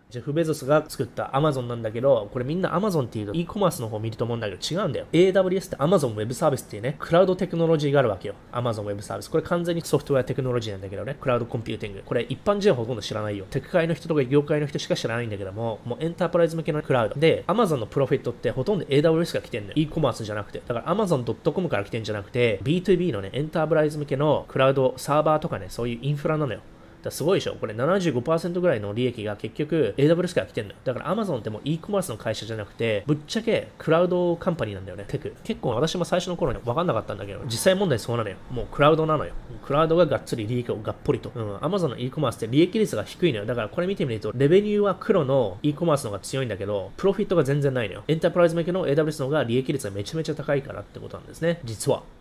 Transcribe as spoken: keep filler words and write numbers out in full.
ジェフ・ベゾスが作った Amazon なんだけど、これみんな Amazon っていうと e コマースの方見ると思うんだけど違うんだよ。エーダブリューエス って Amazon Web Service っていうね、クラウドテクノロジーがあるわけよ。Amazon Web Service。これ完全にソフトウェアテクノロジーなんだけどね、クラウドコンピューティング。これ一般人はほとんど知らないよ。テク界の人とか業界の人しか知らないんだけども、もうエンタープライズ向けのクラウド。で、Amazon のプロフィットってほとんど エーダブリューエス が来てんのよ。e コマースじゃなくて。だから アマゾンドットコム から来てんじゃなくて、ビーツービー のね、エンタープライズ向けのクラウドサーバーとかね、そういうインフラなのよ。だすごいでしょ。これ ななじゅうごパーセント ぐらいの利益が結局 エーダブリューエス から来てんのよ。だから Amazon ってもう e コマースの会社じゃなくて、ぶっちゃけクラウドカンパニーなんだよね。テク。結構私も最初の頃に分かんなかったんだけど、実際問題そうなのよ。もうクラウドなのよ。クラウドががっつり利益をがっぽりと。うん。Amazon の e コマースって利益率が低いのよ。だからこれ見てみると、レベニューは黒の e コマースの方が強いんだけど、プロフィットが全然ないのよ。エンタープライズ向けの エーダブリューエス の方が利益率がめちゃめちゃ高いからってことなんですね。実は。